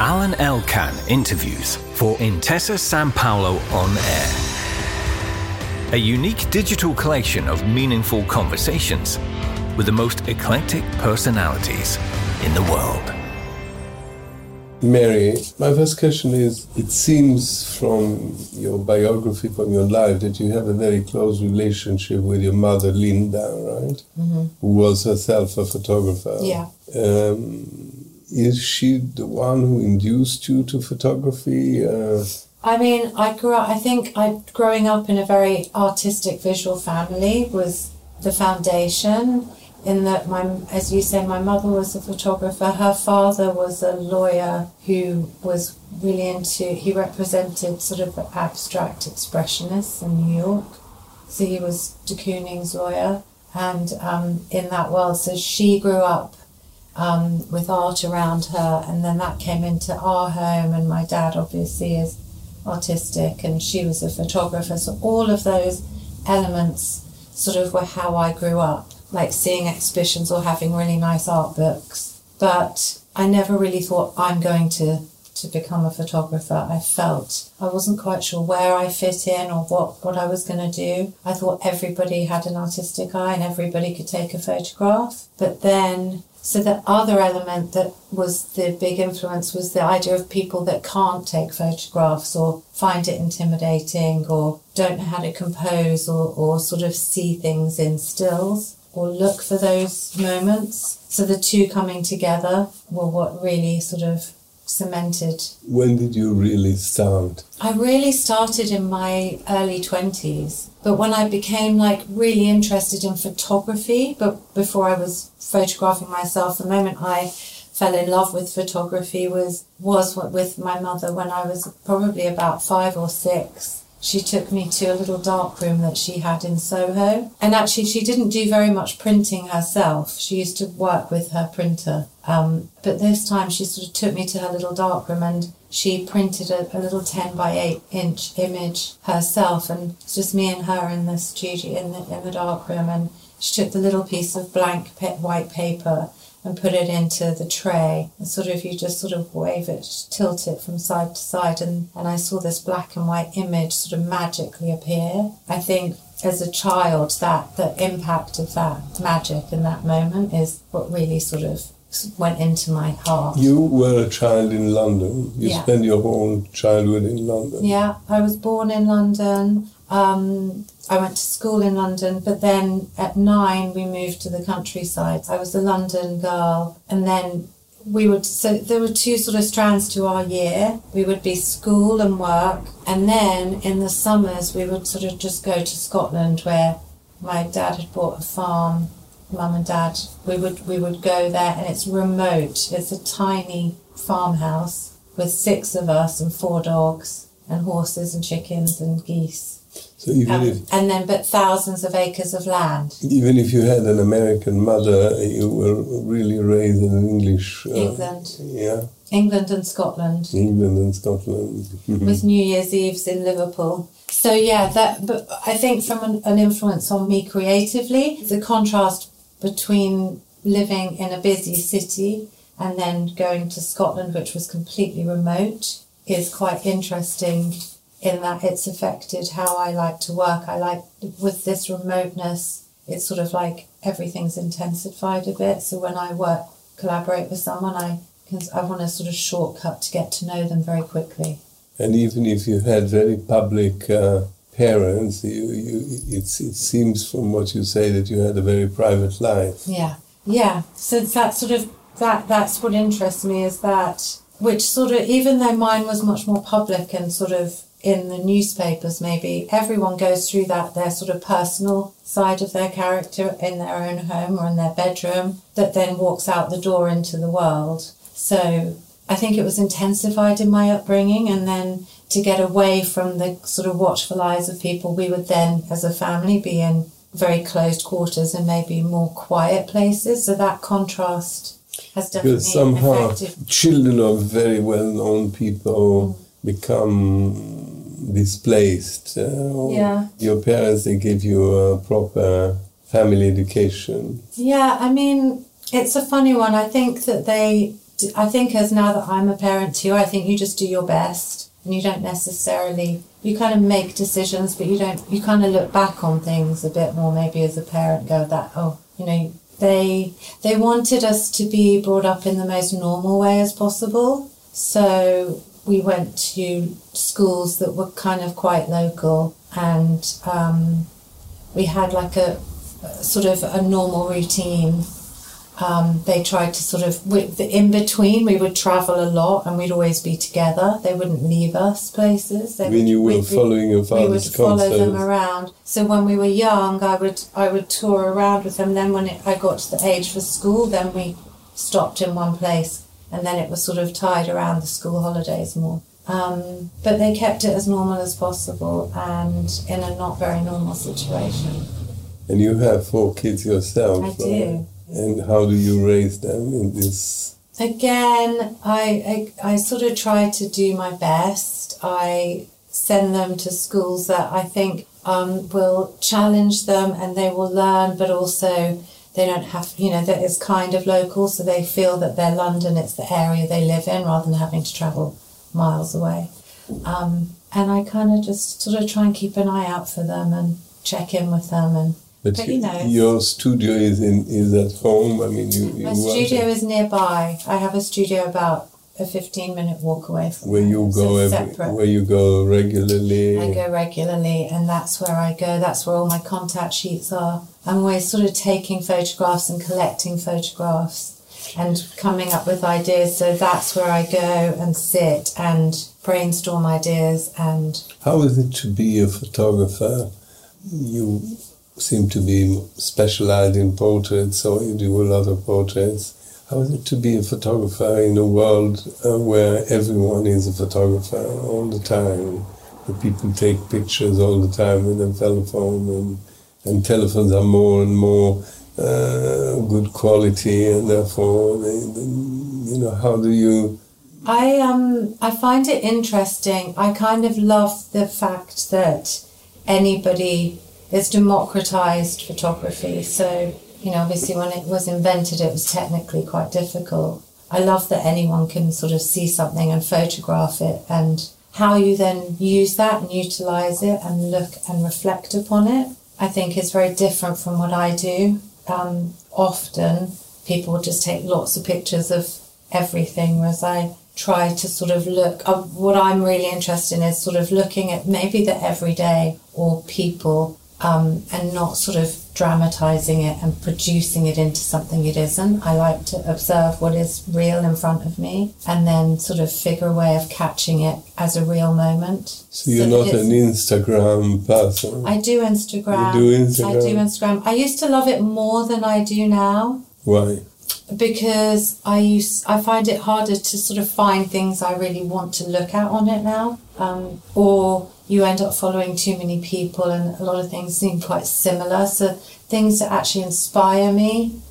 Alan Elkan interviews for Intesa Sanpaolo On Air. A unique digital collection of meaningful conversations with the most eclectic personalities in the world. Mary, my first question is, it seems from your biography, from your life, that you have a very close relationship with your mother, Linda, right? Mm-hmm. Who was herself a photographer. Yeah. Is she the one who induced you to photography? I mean, growing up in a very artistic visual family was the foundation, in that as you say, my mother was a photographer. Her father was a lawyer who was really he represented sort of abstract expressionists in New York. So he was de Kooning's lawyer, and in that world, so she grew up with art around her, and then that came into our home, and my dad obviously is artistic and she was a photographer, so all of those elements sort of were how I grew up, like seeing exhibitions or having really nice art books. But I never really thought I'm going to become a photographer. I wasn't quite sure where I fit in or what I was going to do. I thought everybody had an artistic eye and everybody could take a photograph. But then, so the other element that was the big influence was the idea of people that can't take photographs or find it intimidating or don't know how to compose or sort of see things in stills or look for those moments. So the two coming together were what really sort of cemented. When did you really start? I really started in my early 20s, but when I became like really interested in photography, but before I was photographing myself, the moment I fell in love with photography was with my mother when I was probably about 5 or 6. She took me to a little darkroom that she had in Soho. And actually, she didn't do very much printing herself. She used to work with her printer. But this time, she sort of took me to her little darkroom and she printed a little 10 by 8 inch image herself. And it's just me and her in the studio, in the darkroom. And she took the little piece of blank white paper and put it into the tray. And sort of, you just sort of wave it, tilt it from side to side. And I saw this black and white image sort of magically appear. I think as a child, the impact of that magic in that moment is what really sort of went into my heart. You were a child in London. You spent your whole childhood in London. Yeah, I was born in London. I went to school in London, but then at 9 we moved to the countryside. I was a London girl, and then so there were two sort of strands to our year. We would be school and work, and then in the summers we would sort of just go to Scotland, where my dad had bought a farm. Mum and Dad, we would go there, and it's remote. It's a tiny farmhouse with 6 of us and 4 dogs and horses and chickens and geese. So but thousands of acres of land. Even if you had an American mother, you were really raised in English. England. Yeah. England and Scotland. England and Scotland. With New Year's Eves in Liverpool. So but I think from an influence on me creatively, the contrast between living in a busy city and then going to Scotland, which was completely remote, is quite interesting in that it's affected how I like to work. I like, with this remoteness, it's sort of like everything's intensified a bit. So when I collaborate with someone, I want a sort of shortcut to get to know them very quickly. And even if you had very public parents, it seems from what you say that you had a very private life. Yeah. So that sort of that's what interests me, is that, which sort of, even though mine was much more public and sort of in the newspapers, maybe everyone goes through their sort of personal side of their character in their own home or in their bedroom, that then walks out the door into the world. So I think it was intensified in my upbringing, and then to get away from the sort of watchful eyes of people, we would then, as a family, be in very closed quarters and maybe more quiet places. So that contrast has definitely because somehow affected. Children of very well-known people become displaced. Your parents, they give you a proper family education. Yeah, I mean, it's a funny one. I think that they I think as now that I'm a parent too, I think you just do your best, and you don't necessarily, you kind of make decisions, but you kind of look back on things a bit more maybe as a parent, go that, they wanted us to be brought up in the most normal way as possible. So we went to schools that were kind of quite local, and we had like a sort of a normal routine. They tried to sort of, in between, we would travel a lot and we'd always be together. They wouldn't leave us places. You were following your father's concerts. We would follow them around. So when we were young, I would tour around with them. Then when I got to the age for school, then we stopped in one place, and then it was sort of tied around the school holidays more. But they kept it as normal as possible and in a not very normal situation. And you have 4 kids yourself. I do. And how do you raise them in this? Again, I sort of try to do my best. I send them to schools that I think will challenge them and they will learn, but also they don't have, that it's kind of local, so they feel that they're London, it's the area they live in, rather than having to travel miles away. And I kind of just sort of try and keep an eye out for them and check in with them. But your studio is at home. I mean, my studio is nearby. I have a studio about a 15-minute walk away from where you go where you go regularly. I go regularly, and that's where I go. That's where all my contact sheets are. I'm always sort of taking photographs and collecting photographs and coming up with ideas. So that's where I go and sit and brainstorm ideas. And how is it to be a photographer? You seem to be specialized in portraits, so you do a lot of portraits. How is it to be a photographer in a world where everyone is a photographer all the time? The people take pictures all the time with a telephone, and telephones are more and more good quality, and therefore, how do you... I find it interesting. I kind of love the fact that it's democratized photography. So, obviously when it was invented, it was technically quite difficult. I love that anyone can sort of see something and photograph it, and how you then use that and utilize it and look and reflect upon it, I think is very different from what I do. Often people just take lots of pictures of everything, whereas I try to sort of look, what I'm really interested in is sort of looking at maybe the everyday or people, and not sort of dramatising it and producing it into something it isn't. I like to observe what is real in front of me and then sort of figure a way of catching it as a real moment. So you're not an Instagram person? I do Instagram. You do Instagram? I do Instagram. I used to love it more than I do now. Why? Because I find it harder to sort of find things I really want to look at on it now, or you end up following too many people and a lot of things seem quite similar. So things that actually inspire me,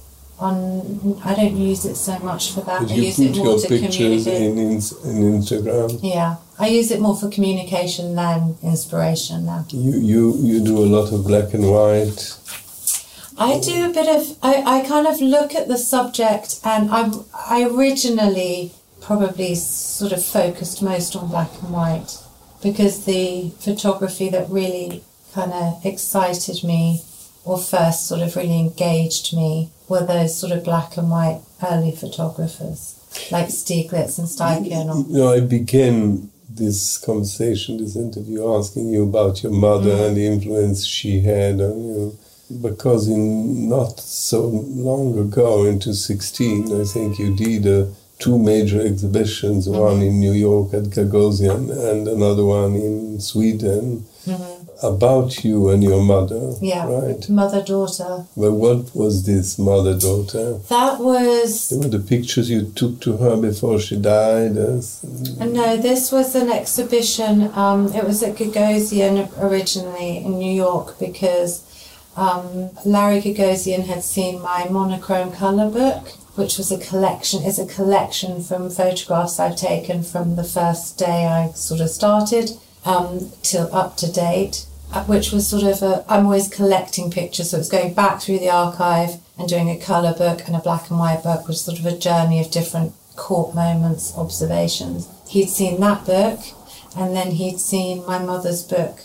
I don't use it so much for that. But you put your pictures in Instagram? Yeah, I use it more for communication than inspiration now. You do a lot of black and white? I do a bit of, I kind of look at the subject, and I originally probably sort of focused most on black and white, because the photography that really kind of excited me or first sort of really engaged me were those sort of black and white early photographers like Stieglitz and Steichen. I began this conversation, this interview, asking you about your mother and the influence she had on you. Because not so long ago, in 2016, I think you did 2 major exhibitions, one in New York at Gagosian and another one in Sweden, about you and your mother, right? Mother-daughter. Well, what was this mother-daughter? That was... They were the pictures you took to her before she died? No, this was an exhibition. It was at Gagosian originally in New York, because Larry Gagosian had seen my monochrome colour book, which was a collection from photographs I've taken from the first day I sort of started till up to date, which was sort of I'm always collecting pictures, so it's going back through the archive and doing a colour book and a black and white book, which is sort of a journey of different court moments, observations. He'd seen that book, and then he'd seen my mother's book,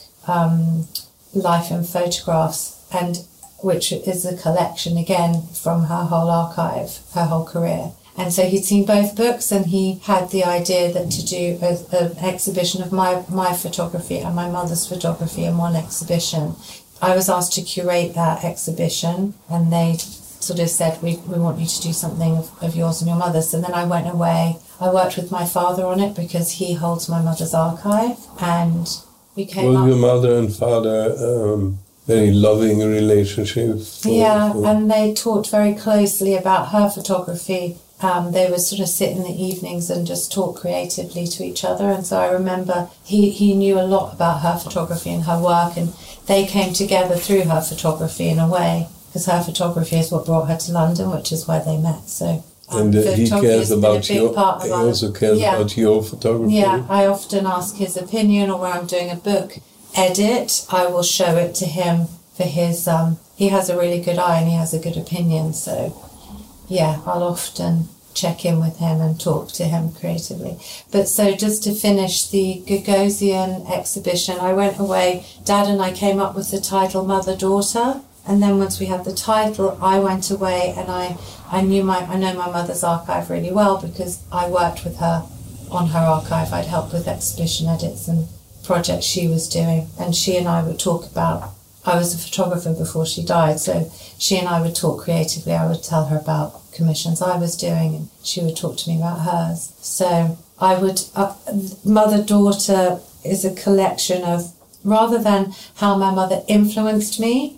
Life in Photographs, and which is a collection again from her whole archive, her whole career. And so he'd seen both books, and he had the idea that to do an exhibition of my photography and my mother's photography in one exhibition. I was asked to curate that exhibition, and they sort of said, we want you to do something of yours and your mother's. And then I went away. I worked with my father on it because he holds my mother's archive, and we came up... Was your mother and father very loving relationship? And they talked very closely about her photography. They would sort of sit in the evenings and just talk creatively to each other. And so I remember he knew a lot about her photography and her work, and they came together through her photography in a way, because her photography is what brought her to London, which is where they met. So and he cares about your. He also cares about your photography. Yeah, I often ask his opinion, or when I'm doing a book edit, I will show it to him for his. He has a really good eye and he has a good opinion. So yeah, I'll often check in with him and talk to him creatively. But so just to finish the Gagosian exhibition, I went away. Dad and I came up with the title Mother-Daughter. And then once we had the title, I went away, and I know my mother's archive really well because I worked with her on her archive. I'd helped with exhibition edits and projects she was doing. And she and I would talk about, I was a photographer before she died, so she and I would talk creatively. I would tell her about commissions I was doing, and she would talk to me about hers. So I would, Mother-Daughter is a collection of, rather than how my mother influenced me,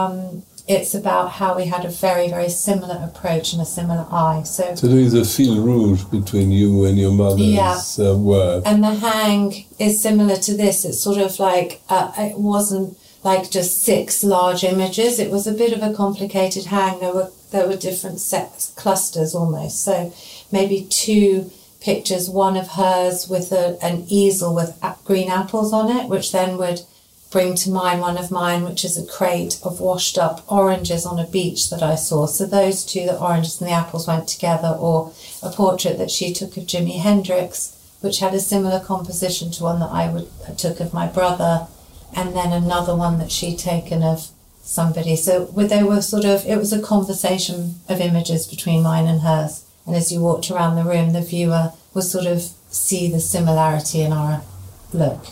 it's about how we had a very, very similar approach and a similar eye. So there is a fil rouge between you and your mother's work. And the hang is similar to this. It's sort of like, it wasn't like just 6 large images. It was a bit of a complicated hang. There were different sets, clusters almost. So maybe 2 pictures, one of hers with an easel with green apples on it, which then would bring to mind one of mine, which is a crate of washed up oranges on a beach that I saw. So those 2, the oranges and the apples, went together. Or a portrait that she took of Jimi Hendrix, which had a similar composition to one that I took of my brother, and then another one that she'd taken of somebody. So they were sort of, it was a conversation of images between mine and hers. And as you walked around the room, the viewer would sort of see the similarity in our look.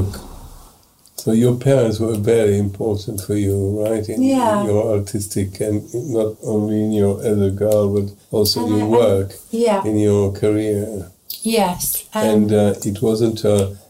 So your parents were very important for you, right? In your artistic, and not only in your as a girl, but also in your work, in your career. Yes. And it wasn't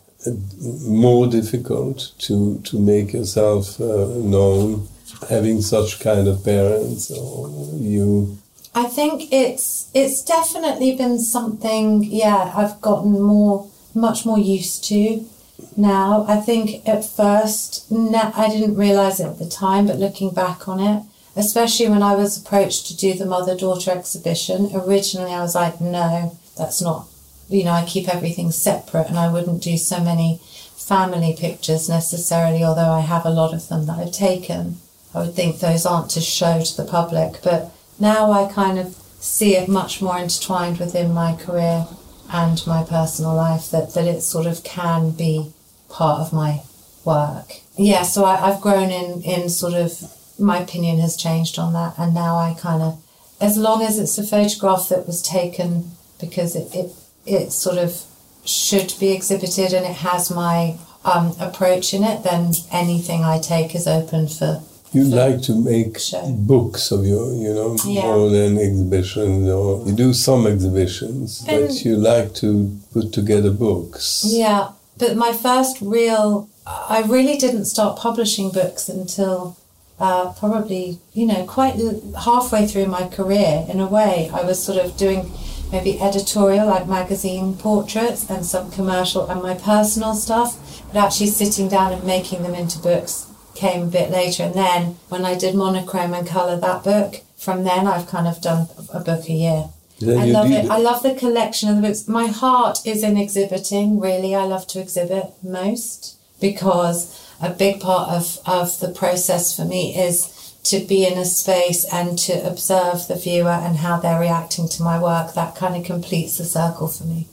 more difficult to make yourself known, having such kind of parents, or you... I think it's definitely been something, I've gotten much more used to. Now, I think at first, I didn't realise it at the time, but looking back on it, especially when I was approached to do the Mother-Daughter exhibition, originally I was like, no, that's not, I keep everything separate, and I wouldn't do so many family pictures necessarily, although I have a lot of them that I've taken. I would think those aren't to show to the public, but now I kind of see it much more intertwined within my career and my personal life, that it sort of can be part of my work. Yeah, so I've grown in sort of, my opinion has changed on that, and now I kind of, as long as it's a photograph that was taken because it sort of should be exhibited and it has my approach in it, then anything I take is open for... You like to make books of your, more than exhibitions, or you do some exhibitions, but you like to put together books. Yeah, but my first I really didn't start publishing books until probably, quite halfway through my career, in a way. I was sort of doing maybe editorial, like magazine portraits, and some commercial and my personal stuff, but actually sitting down and making them into books came a bit later. And then when I did monochrome and colour that book, from then I've kind of done a book a year. I love it. I love the collection of the books. My heart is in exhibiting, really. I love to exhibit most, because a big part of the process for me is to be in a space and to observe the viewer and how they're reacting to my work, that kind of completes the circle for me.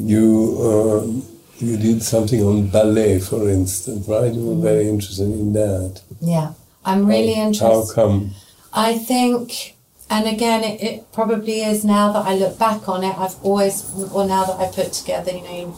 You did something on ballet, for instance, right? You were very interested in that. Yeah, I'm really interested. How come? I think, and again, it probably is now that I look back on it, now that I put together,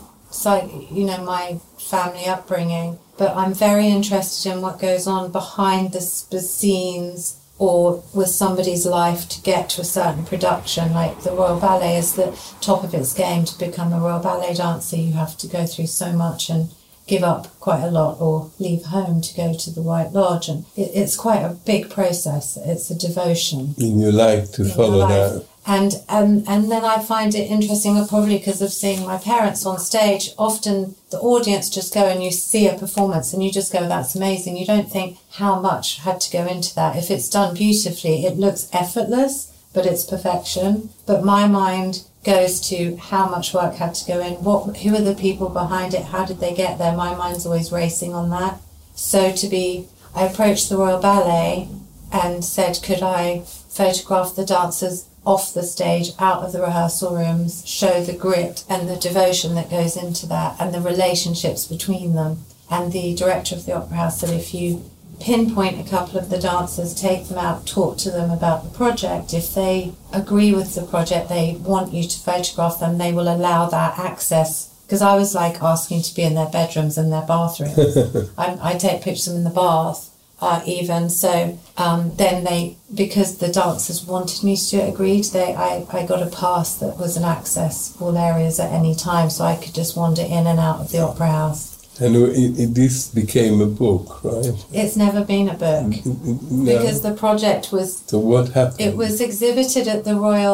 my family upbringing, but I'm very interested in what goes on behind the scenes or with somebody's life to get to a certain production. Like the Royal Ballet is the top of its game. To become a Royal Ballet dancer, you have to go through so much and give up quite a lot or leave home to go to the White Lodge. And it's quite a big process. It's a devotion. And you like to follow that. And then I find it interesting, probably because of seeing my parents on stage. Often the audience just go and you see a performance and you just go, that's amazing. You don't think how much had to go into that. If it's done beautifully, it looks effortless, but it's perfection. But my mind goes to how much work had to go in, who are the people behind it, how did they get there? My mind's always racing on that. So I approached the Royal Ballet and said, could I photograph the dancers off the stage, out of the rehearsal rooms, show the grit and the devotion that goes into that and the relationships between them. And the director of the Opera House said, if you pinpoint a couple of the dancers, take them out, talk to them about the project, if they agree with the project, they want you to photograph them, they will allow that access. Because I was like asking to be in their bedrooms and their bathrooms. I take pictures of them in the bath. Even so, then because the dancers wanted me to agreed, I got a pass that was an access all areas at any time, so I could just wander in and out of the Opera House. And this became a book, right? It's never been a book because the project was. So what happened? It was exhibited at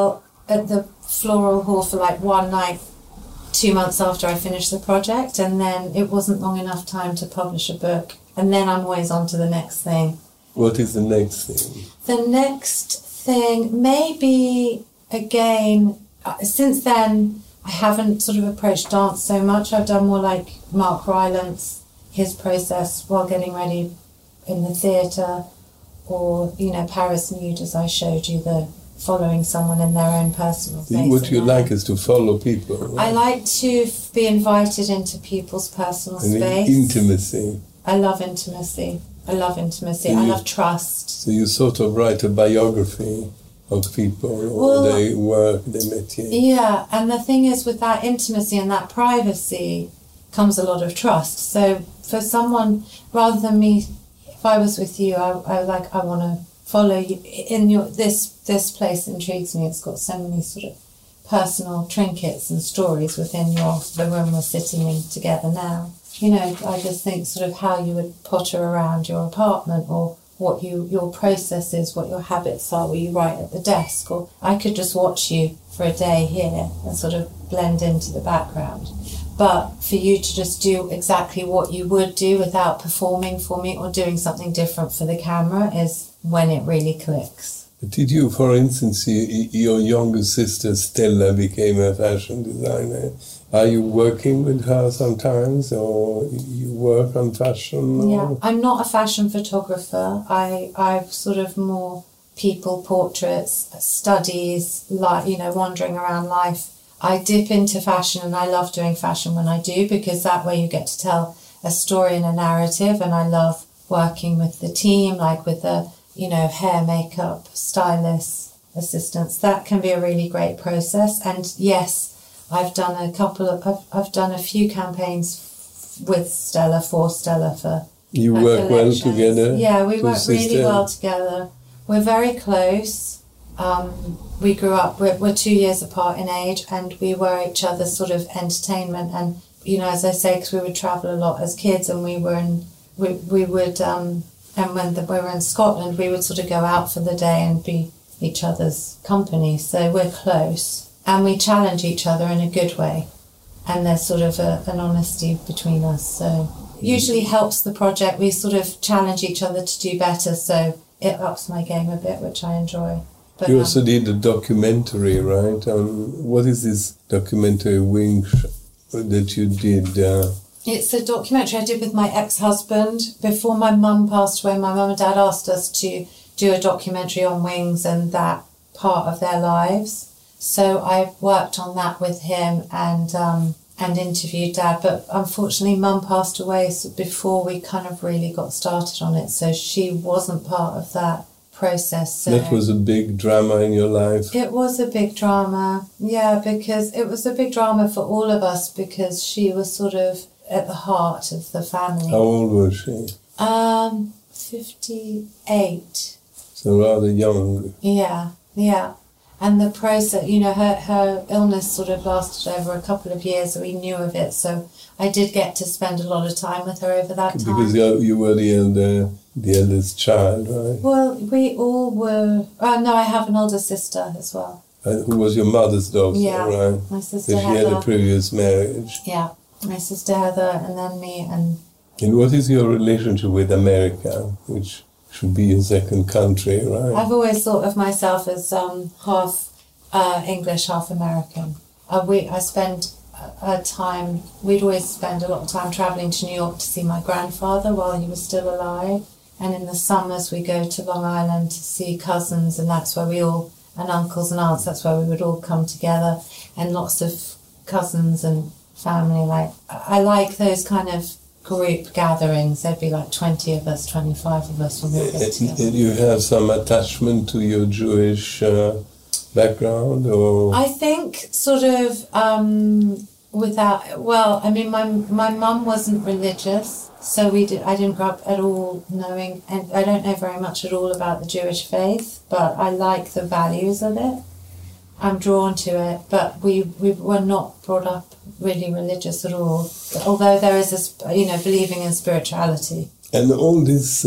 the Floral Hall for like one night, 2 months after I finished the project, and then it wasn't long enough time to publish a book. And then I'm always on to the next thing. What is the next thing? The next thing, maybe, again, since then, I haven't sort of approached dance so much. I've done more like Mark Rylance, his process while getting ready in the theatre, or, Paris Nude, as I showed you, the following someone in their own personal space. What you like is to follow people. Right? I like to be invited into people's personal space. Intimacy. I love intimacy. I love trust. So you sort of write a biography of people, or they met you. Yeah, and the thing is, with that intimacy and that privacy comes a lot of trust. So for someone, rather than me, if I was with you, I want to follow you in this place intrigues me. It's got so many sort of personal trinkets and stories within the room we're sitting in together now. I just think sort of how you would potter around your apartment, or what your process is, what your habits are, where you write at the desk, or I could just watch you for a day here and sort of blend into the background. But for you to just do exactly what you would do without performing for me or doing something different for the camera is when it really clicks. Did you, for instance, your younger sister Stella became a fashion designer? Are you working with her sometimes, or you work on fashion? Yeah, I'm not a fashion photographer. I've sort of more people portraits, studies, wandering around life. I dip into fashion, and I love doing fashion when I do, because that way you get to tell a story and a narrative, and I love working with the team, like with the hair, makeup, stylists, assistants. That can be a really great process. And yes, I've done a few campaigns with Stella, for Stella, for you work well together? Yeah, we work really well together. We're very close. We grew up, we're 2 years apart in age, and we were each other's sort of entertainment. And, as I say, because we would travel a lot as kids, and we were and when we were in Scotland, we would sort of go out for the day and be each other's company. So we're close. And we challenge each other in a good way. And there's sort of an honesty between us. So it usually helps the project. We sort of challenge each other to do better. So it ups my game a bit, which I enjoy. But you also did a documentary, right? What is this documentary, Wings, that you did? It's a documentary I did with my ex-husband. Before my mum passed away, my mum and dad asked us to do a documentary on Wings and that part of their lives. So I worked on that with him and interviewed Dad. But unfortunately, Mum passed away before we kind of really got started on it. So she wasn't part of that process. So that was a big drama in your life. It was a big drama, yeah, because it was a big drama for all of us because she was sort of at the heart of the family. How old was she? 58. So rather young. Yeah. And the process, you know, her illness sort of lasted over a couple of years, so we knew of it. So I did get to spend a lot of time with her over that time. Because you were the eldest child, right? Well, we all were. No, I have an older sister as well. Who was your mother's daughter, Yeah, right? my sister So she Heather. had a previous marriage. Yeah, my sister Heather, and then me, and what is your relationship with America, which should be your second country, right? I've always thought of myself as half English, half American. I spend we'd always spend a lot of time travelling to New York to see my grandfather while he was still alive. And in the summers we go to Long Island to see cousins, and that's where and uncles and aunts, that's where we would all come together. And lots of cousins and family. I like those kind of group gatherings. There'd be like 20 of us, 25 of us when we get together. You have some attachment to your Jewish background, or? I think sort of my mum wasn't religious, so I didn't grow up at all knowing, and I don't know very much at all about the Jewish faith, but I like the values of it. I'm drawn to it, but we were not brought up really religious at all. Although there is believing in spirituality. And all this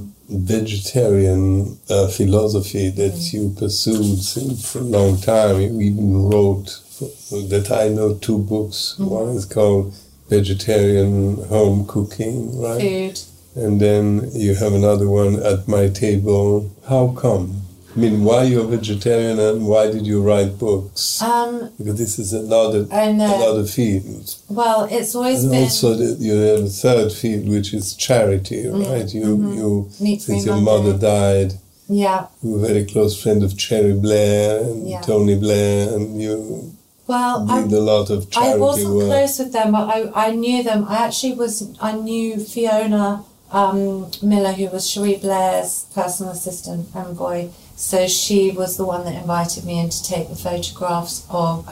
vegetarian philosophy that you pursued for a long time. You even wrote, that I know, 2 books. Mm-hmm. One is called Vegetarian Home Cooking, right? Food. And then you have another one, At My Table. How come? I mean, why you're vegetarian and why did you write books? Because this is another field. Well, it's always been... And also you have a third field, which is charity, right? Since your mother died, you were a very close friend of Cherry Blair and Tony Blair, and you did a lot of charity work. I wasn't close with them, but I knew them. I knew Fiona Miller, who was Cherie Blair's personal assistant and boy. So she was the one that invited me in to take the photographs of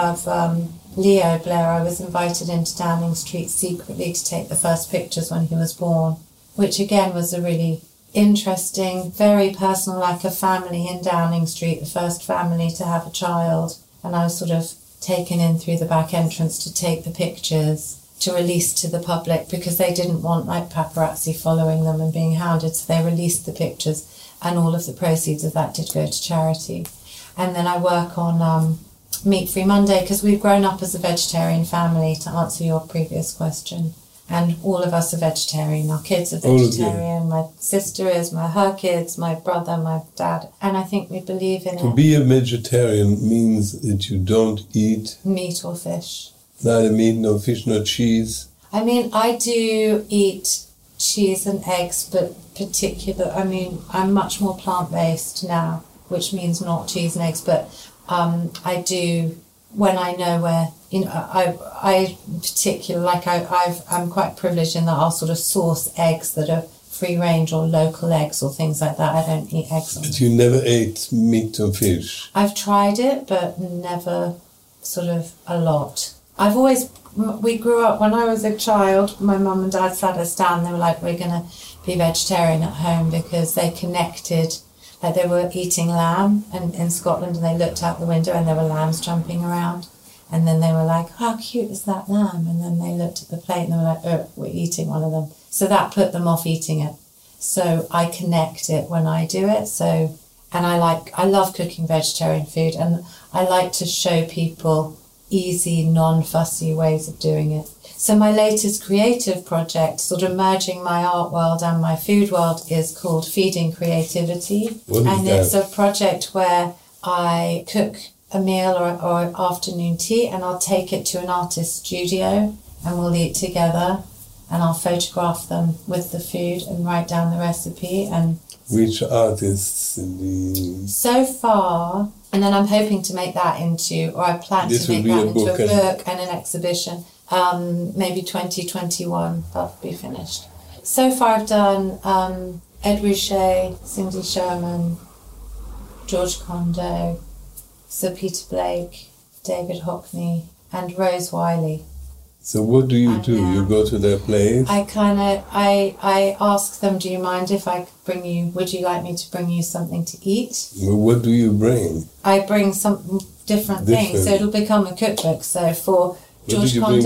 Leo Blair. I was invited into Downing Street secretly to take the first pictures when he was born, which again was a really interesting, very personal, like a family in Downing Street, the first family to have a child. And I was sort of taken in through the back entrance to take the pictures to release to the public because they didn't want like paparazzi following them and being hounded. So they released the pictures. And all of the proceeds of that did go to charity. And then I work on Meat Free Monday because we've grown up as a vegetarian family, to answer your previous question. And all of us are vegetarian. Our kids are vegetarian. My sister is, her kids, my brother, my dad. And I think we believe in it. To be a vegetarian means that you don't eat... meat or fish. Neither meat, no fish, no cheese. I mean, I do eat cheese and eggs, but I'm much more plant-based now, which means not cheese and eggs, but I do, when I know where, I particularly, I'm quite privileged in that I'll sort of source eggs that are free range or local eggs or things like that. I don't eat eggs. But you never ate meat or fish? I've tried it, but never sort of a lot. We grew up, when I was a child, my mum and dad sat us down, they were like, we're going to be vegetarian at home, because they connected, like they were eating lamb in Scotland, and they looked out the window and there were lambs jumping around, and then they were like, how cute is that lamb? And then they looked at the plate and they were like, oh, we're eating one of them. So that put them off eating it. So I connect it when I do it. So, and I love cooking vegetarian food, and I like to show people easy, non-fussy ways of doing it. So my latest creative project, sort of merging my art world and my food world, is called Feeding Creativity. And it's a project where I cook a meal or afternoon tea, and I'll take it to an artist's studio and we'll eat together. and I'll photograph them with the food and write down the recipe. And which artists? So far, and then I'm hoping to make that into, or I plan to make that into a book and an exhibition. Maybe 2021 that'll be finished. So far I've done Ed Ruscha, Cindy Sherman, George Condo, Sir Peter Blake, David Hockney, and Rose Wiley. So what do you do? You go to their place? I ask them, do you mind if I bring you, would you like me to bring you something to eat? Well, what do you bring? I bring some different things, so it'll become a cookbook. So for George Condo,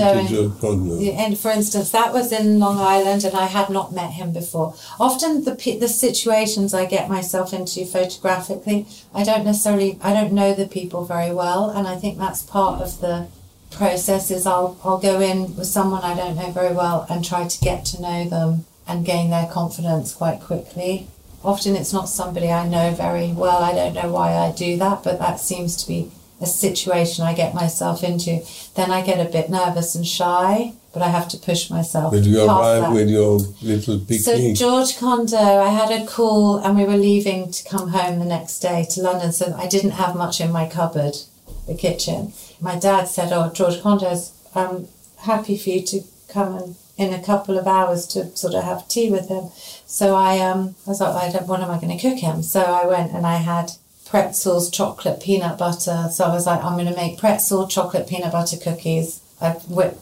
and for instance, that was in Long Island, and I had not met him before. Often the situations I get myself into photographically, I don't know the people very well, and I think that's part of the process. Is I'll go in with someone I don't know very well and try to get to know them and gain their confidence quite quickly. Often it's not somebody I know very well. I don't know why I do that, but that seems to be a situation I get myself into. Then I get a bit nervous and shy, but I have to push myself. But you arrive with your little picnic. So George Condo, I had a call and we were leaving to come home the next day to London, so I didn't have much in my cupboard, the kitchen. My dad said, George Condo's happy for you to come in a couple of hours to sort of have tea with him. So I was like, what am I going to cook him? So I went and I had pretzels, chocolate, peanut butter. So I was like, I'm going to make pretzel, chocolate, peanut butter cookies. I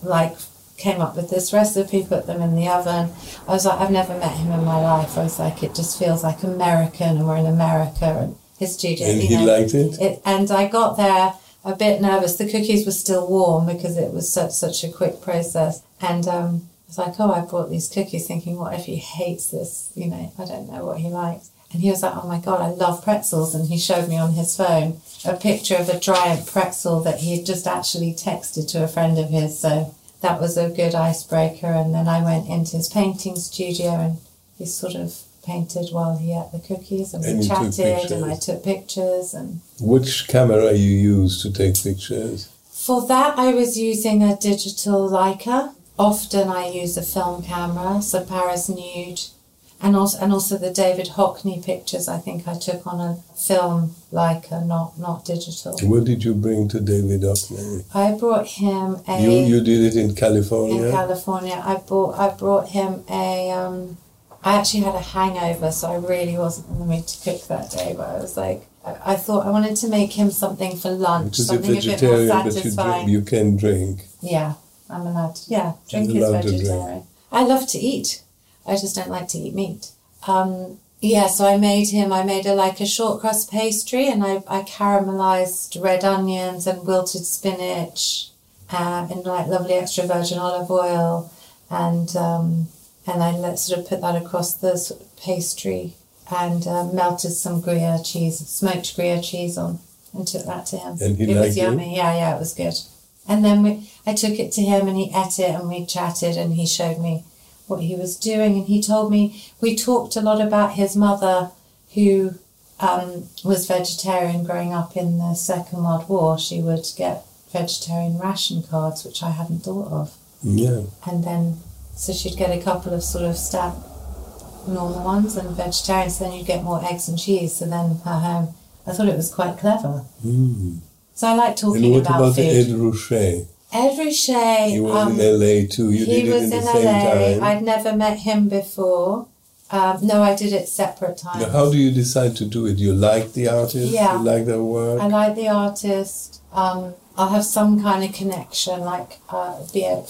came up with this recipe, put them in the oven. I was like, I've never met him in my life. I was like, it just feels like American, and we're in America, and his studio. And he liked it? And I got there a bit nervous. The cookies were still warm because it was such a quick process. And I was like, I brought these cookies thinking, what if he hates this? I don't know what he likes. And he was like, oh my God, I love pretzels. And he showed me on his phone a picture of a giant pretzel that he had just actually texted to a friend of his. So that was a good icebreaker. And then I went into his painting studio and he sort of painted while he ate the cookies, and we chatted and I took pictures. And which camera you use to take pictures? For that I was using a digital Leica. Often I use a film camera, so Paris Nude. And also the David Hockney pictures I think I took on a film Leica, not digital. What did you bring to David Hockney? I brought him a... You did it in California? In California. I brought him a... I actually had a hangover, so I really wasn't in the mood to cook that day, but I was like... I thought I wanted to make him something for lunch, because something a bit more satisfying. But you can drink. Yeah, I'm allowed to. Yeah, drink is vegetarian. I love to eat. I just don't like to eat meat. So I made a short crust pastry, and I caramelized red onions and wilted spinach in lovely extra virgin olive oil, and I sort of put that across the sort of pastry and melted some Gruyere cheese, smoked Gruyere cheese on, and took that to him. And it was yummy. It? Yeah, it was good. And then I took it to him and he ate it and we chatted and he showed me what he was doing, and he told me, we talked a lot about his mother who was vegetarian growing up in the Second World War. She would get vegetarian ration cards, which I hadn't thought of. Yeah. And then, so she'd get a couple of sort of normal ones and vegetarian, so then you'd get more eggs and cheese. So then at home, I thought it was quite clever. Mm. So I like talking about food. And what about Ed Ruscha? Ed Ruscha... He was in LA too. You did it in the same time. I'd never met him before. No, I did it separate times. Now, how do you decide to do it? You like the artist? Yeah. You like their work? I like the artist. I'll have some kind of connection, to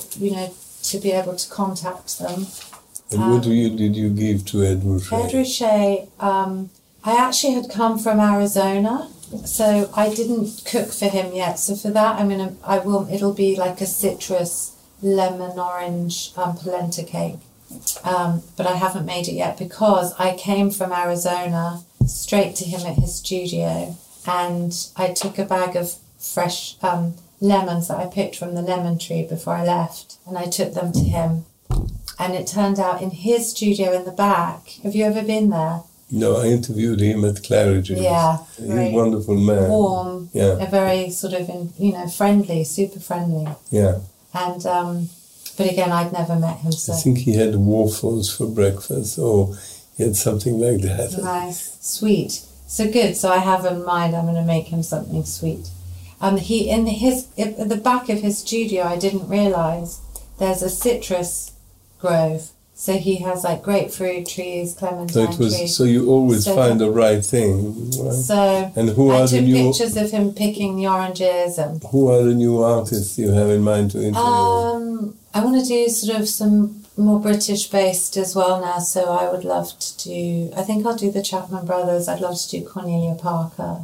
be able to contact them. And what did you give to Ed Ruscha? Ed Ruscha, I actually had come from Arizona, so I didn't cook for him yet. So for that, it'll be like a citrus lemon orange polenta cake. But I haven't made it yet because I came from Arizona straight to him at his studio, and I took a bag of fresh lemons that I picked from the lemon tree before I left, and I took them to him. And it turned out in his studio in the back. Have you ever been there? No, I interviewed him at Claridge's. Yeah. He's a wonderful man. Warm. Yeah. A very sort of, friendly, super friendly. Yeah. And But again, I'd never met him, so... I think he had waffles for breakfast, or he had something like that. Nice. Sweet. So good. So I have in mind I'm going to make him something sweet. He at the back of his studio, I didn't realise there's a citrus grove. So he has like grapefruit trees, clementine trees. So you always find the right thing, right? So and who I are took the new pictures of him picking the oranges. And who are the new artists you have in mind to interview? I want to do sort of some more British based as well now. So I would love to do. I think I'll do the Chapman Brothers. I'd love to do Cornelia Parker.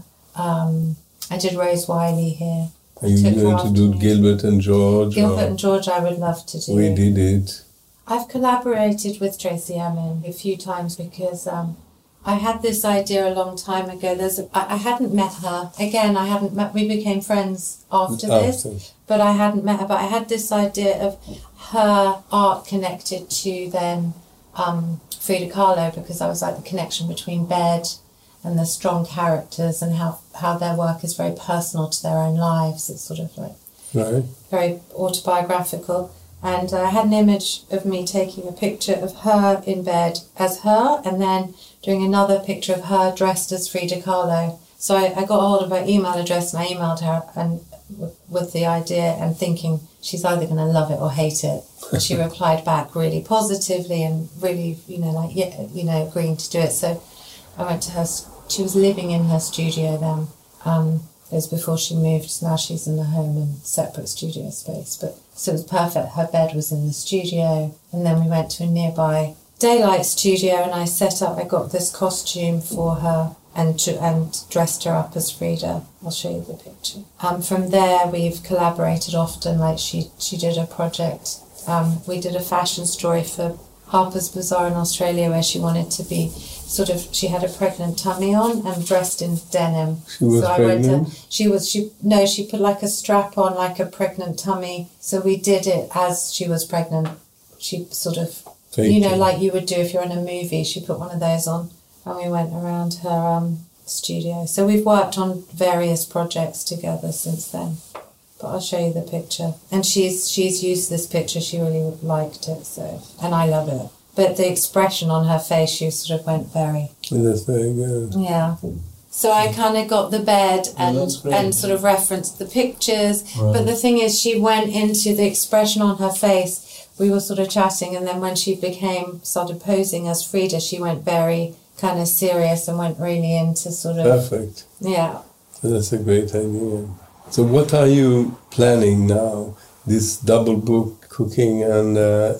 I did Rose Wiley here. Are you going to do Gilbert and George? Gilbert and George I would love to do. We did it. I've collaborated with Tracey Emin a few times because I had this idea a long time ago. I hadn't met her. Again, we became friends after this, but I hadn't met her. But I had this idea of her art connected to then Frida Kahlo, because I was like the connection between Bed and the strong characters and how their work is very personal to their own lives. It's sort of like very autobiographical. And I had an image of me taking a picture of her in bed as her, and then doing another picture of her dressed as Frida Kahlo. So I got a hold of her email address and I emailed her and with the idea and thinking she's either going to love it or hate it. And she replied back really positively and really, agreeing to do it. So I went to her. She was living in her studio then. It was before she moved, so now she's in the home and separate studio space. But so it was perfect. Her bed was in the studio, and then we went to a nearby daylight studio, and I got this costume for her and dressed her up as Frida. I'll show you the picture. From there, we've collaborated often. Like she did a project. We did a fashion story for Harper's Bazaar in Australia where she wanted to be she had a pregnant tummy on and dressed in denim. She was pregnant? She put like a strap on like a pregnant tummy. So we did it as she was pregnant. She sort of, like you would do if you're in a movie, she put one of those on and we went around her studio. So we've worked on various projects together since then. But I'll show you the picture. And she's used this picture, she really liked it, and I love it. But the expression on her face, she sort of went very... That's very good. Yeah. So I kind of got the bed and sort of referenced the pictures. Right. But the thing is, she went into the expression on her face. We were sort of chatting, and then when she started posing as Frida, she went very kind of serious and went really into sort of... Perfect. Yeah. So that's a great idea. So what are you planning now? This double book, cooking and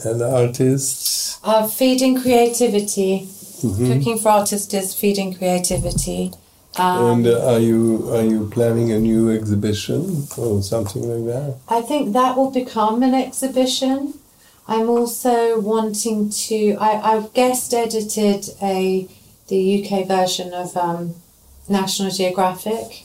artists? Feeding creativity. Mm-hmm. Cooking for Artists is feeding creativity. And are you planning a new exhibition or something like that? I think that will become an exhibition. I'm also wanting to... I guest edited the UK version of National Geographic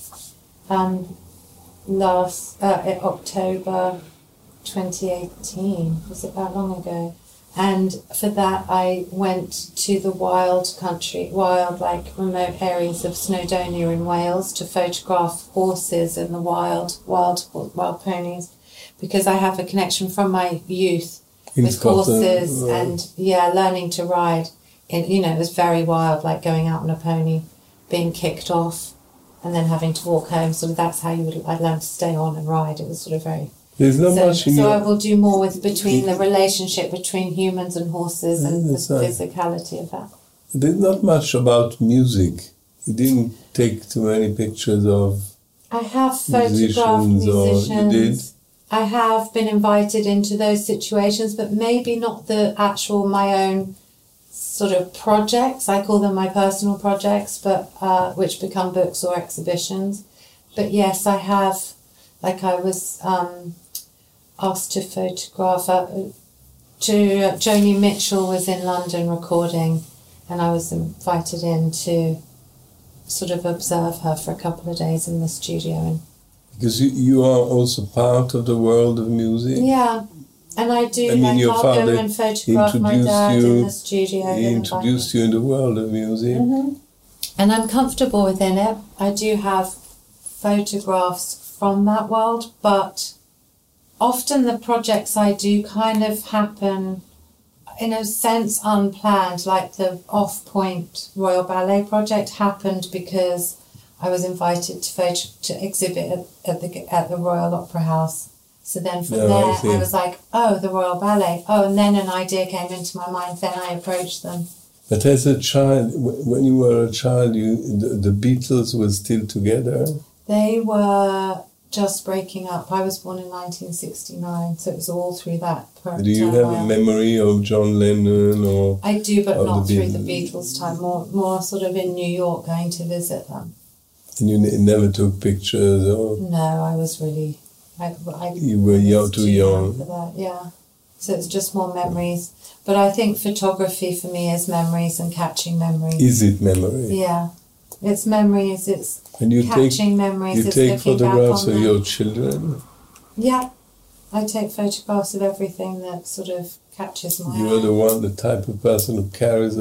last October 2018. Was it that long ago? And for that I went to the wild remote areas of Snowdonia in Wales to photograph horses and the wild ponies, because I have a connection from my youth with horses and learning to ride. It was very wild, like going out on a pony, being kicked off, and then having to walk home. So that's how I'd learn to stay on and ride. It was sort of very... There's not much so I will do more between the relationship between humans and horses and the physicality of that. There's not much about music. You didn't take too many pictures of... I have photographed musicians. You did? I have been invited into those situations, but maybe not the actual my own sort of projects. I call them my personal projects, but which become books or exhibitions. But yes, I have. Like I was asked to photograph. Joni Mitchell was in London recording, and I was invited in to sort of observe her for a couple of days in the studio. Because you are also part of the world of music. Yeah. And I do, I'll go and photograph my dad in the studio. He introduced you in the world of music. Mm-hmm. And I'm comfortable within it. I do have photographs from that world, but often the projects I do kind of happen, in a sense, unplanned. Like the Off-Point Royal Ballet project happened because I was invited to exhibit at the Royal Opera House. So then from there, I was like, oh, the Royal Ballet. Oh, and then an idea came into my mind. Then I approached them. But as a child, when you were a child, the Beatles were still together? They were just breaking up. I was born in 1969, so it was all through that. Do you have a memory of John Lennon or? I do, but not through the Beatles time. More sort of in New York, going to visit them. And you never took pictures, or? No, I was really. You were too young for that. Yeah. So it's just more memories. But I think photography for me is memories and catching memories. Is it memory? Yeah. It's memories, it's catching memories. You take photographs of your children? Yeah. I take photographs of everything that sort of catches my eye. You are the type of person who carries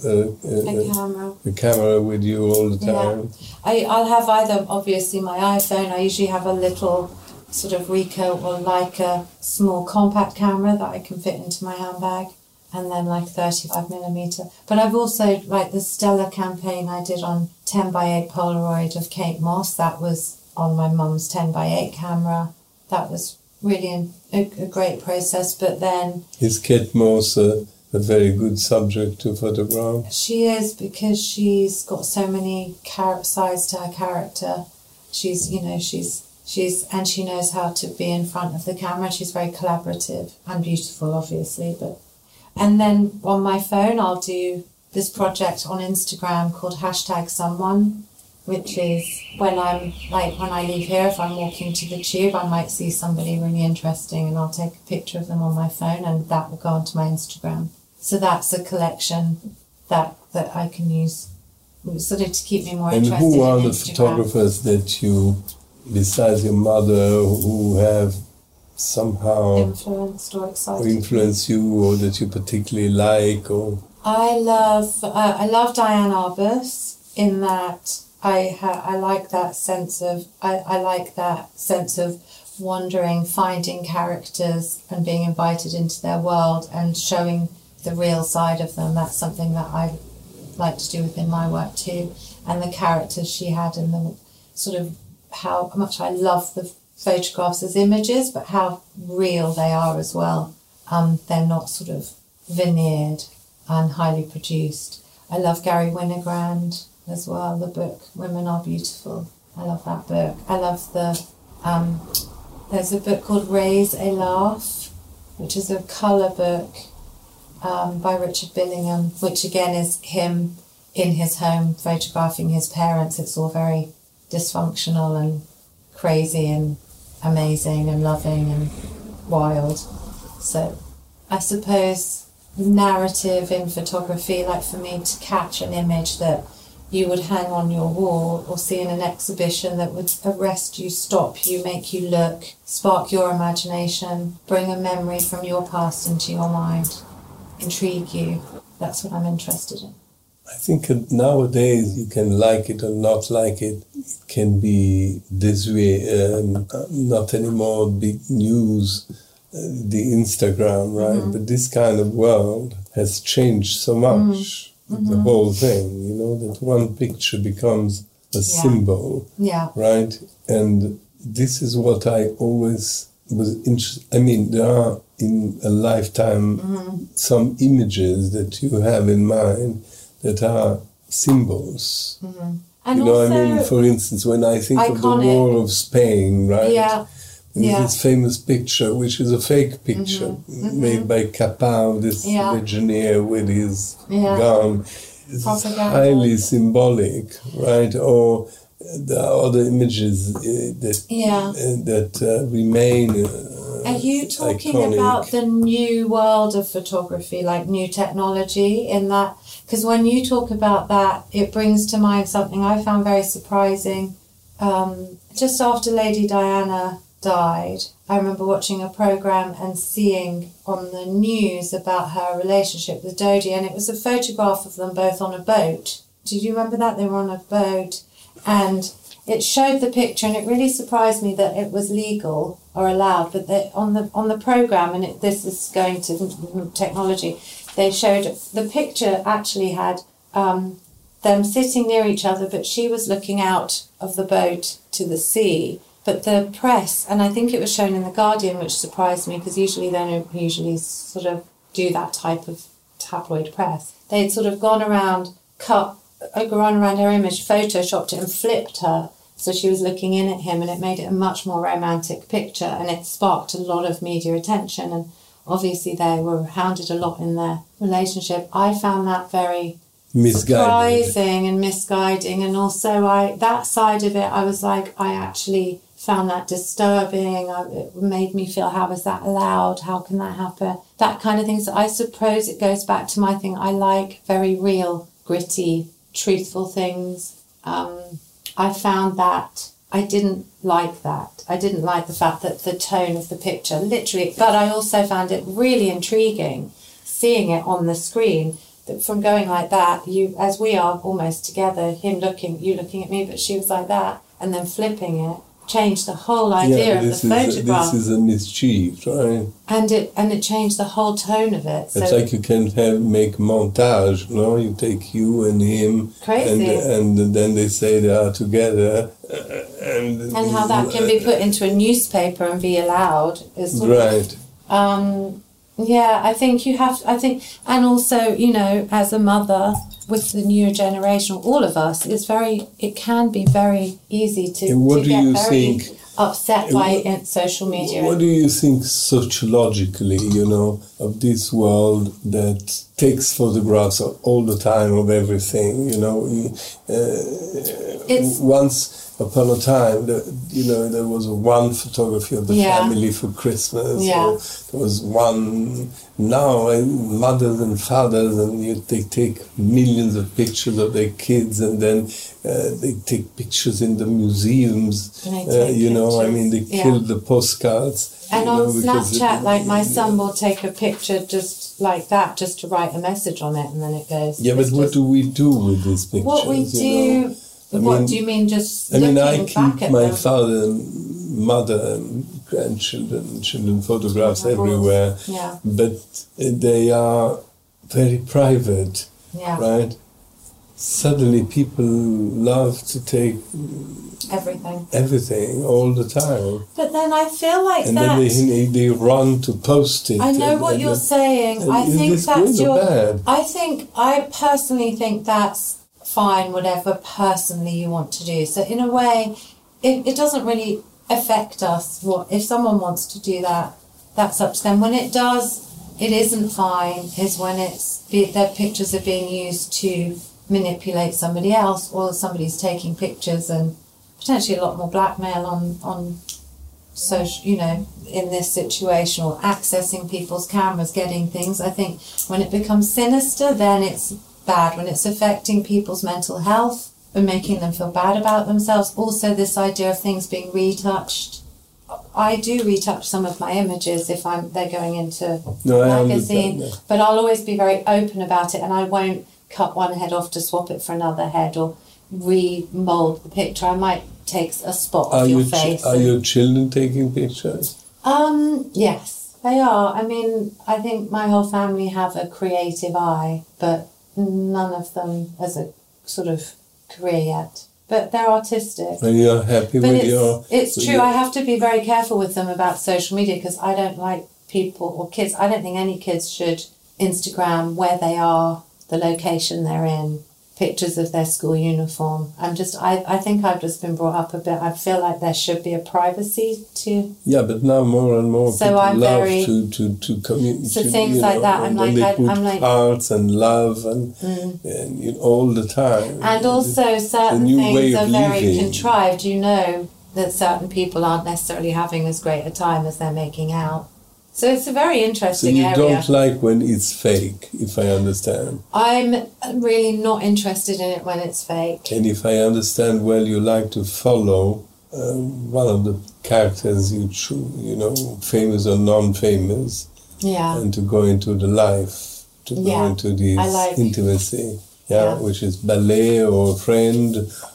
a camera with you all the time? Yeah. I'll have either, obviously, my iPhone. I usually have a little sort of Ricoh or Leica small compact camera that I can fit into my handbag, and then like 35mm. But I've also, like the Stella campaign I did on 10x8 Polaroid of Kate Moss, that was on my mum's 10x8 camera. That was really a great process. But then... Is Kate Moss a very good subject to photograph? She is, because she's got so many sides to her character. And she knows how to be in front of the camera. She's very collaborative and beautiful, obviously. And then on my phone, I'll do this project on Instagram called #someone, which is when I leave here, if I'm walking to the tube, I might see somebody really interesting and I'll take a picture of them on my phone and that will go onto my Instagram. So that's a collection that I can use sort of to keep me more interested in Instagram. And who are the photographers that you, besides your mother, who have somehow influenced you, or that you particularly like? Or I love Diane Arbus, in that I like that sense of wandering, finding characters and being invited into their world and showing the real side of them. That's something that I like to do within my work too. And the characters she had, and the sort of how much I love the photographs as images, but how real they are as well. They're not sort of veneered and highly produced. I love Gary Winogrand as well, the book Women Are Beautiful. I love that book. I love there's a book called Raise a Laugh, which is a colour book by Richard Billingham, which again is him in his home photographing his parents. It's all very dysfunctional and crazy and amazing and loving and wild. So I suppose narrative in photography, like for me to catch an image that you would hang on your wall or see in an exhibition that would arrest you, stop you, make you look, spark your imagination, bring a memory from your past into your mind, intrigue you. That's what I'm interested in. I think nowadays you can like it or not like it. It can be this way, not anymore big news, the Instagram, right? Mm-hmm. But this kind of world has changed so much. Mm-hmm. The whole thing, that one picture becomes a symbol, right? And this is what I always was interested. I mean, there are in a lifetime some images that you have in mind that are symbols. Mm-hmm. And for instance, when I think of the War of Spain, right? Yeah. This famous picture, which is a fake picture made by Capin, this legionnaire with his gun. It's highly symbolic, right? Or the other images that remain Are you talking iconic. About the new world of photography, like new technology in that? Because when you talk about that, it brings to mind something I found very surprising. Just after Lady Diana died, I remember watching a programme and seeing on the news about her relationship with Dodi, and it was a photograph of them both on a boat. Did you remember that? They were on a boat, and it showed the picture, and it really surprised me that it was legal or allowed. But on the program, and this is going to technology, they showed the picture actually had them sitting near each other, but she was looking out of the boat to the sea. But the press, and I think it was shown in The Guardian, which surprised me, because usually they don't usually sort of do that type of tabloid press. They'd sort of gone around her image, photoshopped it and flipped her. So she was looking in at him, and it made it a much more romantic picture, and it sparked a lot of media attention. And obviously they were hounded a lot in their relationship. I found that very surprising and misguiding. And also that side of it, I was like, I actually found that disturbing. It made me feel, how is that allowed? How can that happen? That kind of thing. So I suppose it goes back to my thing. I like very real, gritty, truthful things. I found that I didn't like that. I didn't like the fact that the tone of the picture, literally, but I also found it really intriguing seeing it on the screen, that from going like that, you, as we are almost together, you looking at me, but she was like that, and then flipping it, changed the whole idea of the photograph. This is a mischief, right? And it changed the whole tone of it. It's like you can make montage, no? You take you and him, crazy, and then they say they are together, and how that can be put into a newspaper and be allowed is right. Yeah, I think and also, as a mother with the newer generation, all of us, it can be very easy to get very upset by social media. What do you think sociologically, of this world that takes photographs all the time of everything, once upon a time, there was one photography of the family for Christmas. Yeah. Or there was one. Now, mothers and fathers, and they take millions of pictures of their kids, and then they take pictures in the museums. They kill the postcards. And on Snapchat, like my son will take a picture just like that, just to write a message on it, and then it goes. Yeah, but what do we do with these pictures? What we do. What do you mean? Just looking I back keep at my them? father and mother and grandchildren, children photographs everywhere. Yeah. But they are very private, right? Suddenly, people love to take everything all the time. But then I feel like and then they run to post it. I know what you're saying. I think that's bad? I personally think that's fine, whatever personally you want to do. So in a way, it doesn't really affect us. If someone wants to do that, that's up to them. When it does, it isn't fine, is when their pictures are being used to manipulate somebody else, or somebody's taking pictures, and potentially a lot more blackmail on social, in this situation, or accessing people's cameras, getting things. I think when it becomes sinister, then it's bad, when it's affecting people's mental health and making them feel bad about themselves. Also, this idea of things being retouched. I do retouch some of my images if they're going into magazine, but I'll always be very open about it, and I won't cut one head off to swap it for another head or remold the picture. I might take a spot of your face. Are your children taking pictures? Yes, they are. I mean, I think my whole family have a creative eye, but none of them as a sort of career yet. But they're artistic. And you're happy with your... It's true, I have to be very careful with them about social media, because I don't like people or kids. I don't think any kids should Instagram where they are, the location they're in, pictures of their school uniform. I think I've just been brought up a bit. I feel like there should be a privacy to... Yeah, but now more and more people love to communicate. So things like that, I'm like hearts and love and all the time. And also certain things are very contrived. That certain people aren't necessarily having as great a time as they're making out. So it's a very interesting area. So you don't like when it's fake, if I understand. I'm really not interested in it when it's fake. And if I understand well, you like to follow one of the characters you choose, famous or non-famous. Yeah. And to go into the life, to go into this intimacy. Which is ballet or a friend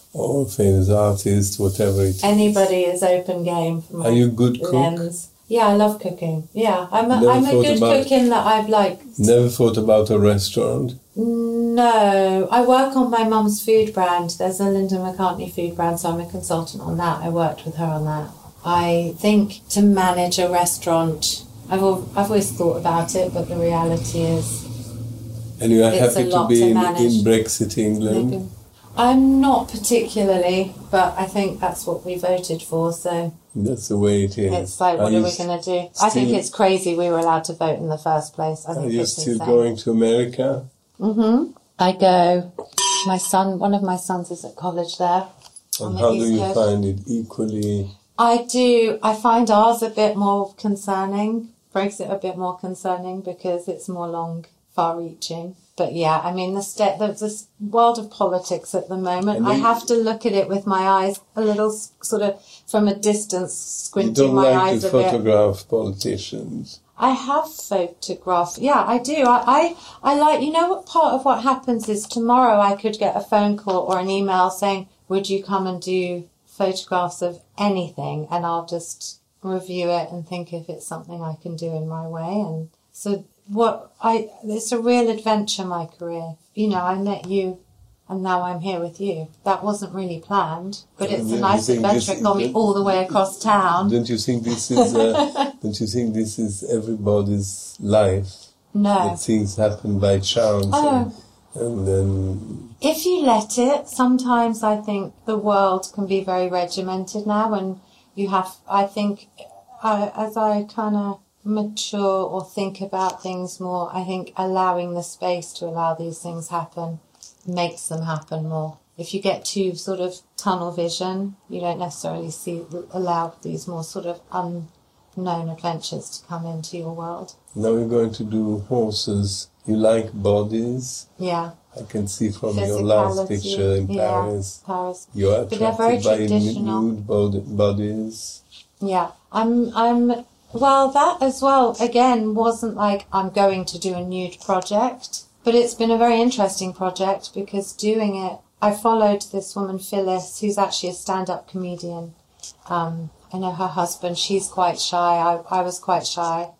or famous artist, whatever it is. Anybody is open game for my Are you a good cook? lens. Yeah, I love cooking. Yeah, I'm a good cook in that I've like... Never thought about a restaurant? No, I work on my mum's food brand. There's a Linda McCartney food brand, so I'm a consultant on that. I worked with her on that. I think to manage a restaurant, I've always thought about it, but the reality is... And you are happy to be in Brexit England? I'm not particularly, but I think that's what we voted for, so... That's the way it is. It's like, what are we going to do? I think it's crazy we were allowed to vote in the first place. I think are you still going to America? Mm-hmm. I go. One of my sons is at college there. And how do you find it? Equally? I do. I find ours a bit more concerning. Brexit a bit more concerning because it's more far-reaching. But yeah, I mean, this world of politics at the moment, I have to look at it with my eyes a little sort of from a distance, squinting my eyes a bit. You don't like to photograph politicians? I have photographed. Yeah, I do. I like, you know what, part of what happens is tomorrow I could get a phone call or an email saying, would you come and do photographs of anything? And I'll just review it and think if it's something I can do in my way. And so it's a real adventure, my career. You know, I met you and now I'm here with you. That wasn't really planned, but it's a nice adventure. It got me all the way across town. Don't you think this is everybody's life? No. That things happen by chance. Oh. And then... If you let it, sometimes I think the world can be very regimented now, and you have, I think, as I kind of mature or think about things more, I think allowing the space to allow these things happen makes them happen more. If you get too sort of tunnel vision, you don't necessarily allow these more sort of unknown adventures to come into your world. Now we're going to do horses. You like bodies? Yeah. I can see from your last picture in Paris. Paris. You are attracted by nude bodies. Yeah. Well, that as well, again, wasn't like I'm going to do a nude project, but it's been a very interesting project because doing it, I followed this woman, Phyllis, who's actually a stand-up comedian. I know her husband, she's quite shy. I was quite shy.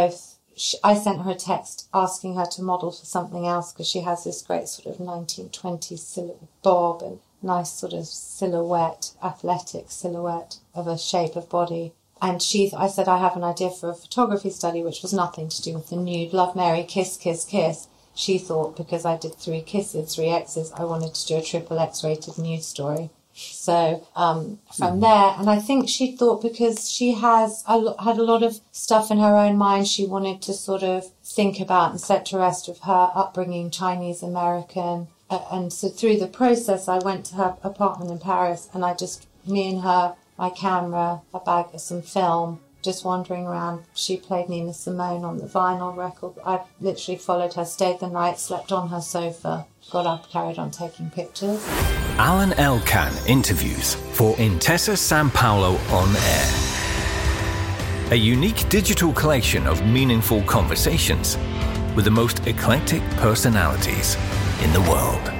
I sent her a text asking her to model for something else because she has this great sort of 1920s bob and nice sort of silhouette, athletic silhouette of a shape of body. And I said, I have an idea for a photography study, which was nothing to do with the nude, love, marry, kiss, kiss, kiss. She thought because I did 3 kisses, 3 X's, I wanted to do a XXX rated nude story. So from there, and I think she thought because she had a lot of stuff in her own mind she wanted to sort of think about and set to rest of her upbringing, Chinese American. And so through the process, I went to her apartment in Paris and me and her, my camera, a bag of some film, just wandering around. She played Nina Simone on the vinyl record. I literally followed her, stayed the night, slept on her sofa, got up, carried on taking pictures. Alan Elkan interviews for Intesa Sanpaolo On Air. A unique digital collection of meaningful conversations with the most eclectic personalities in the world.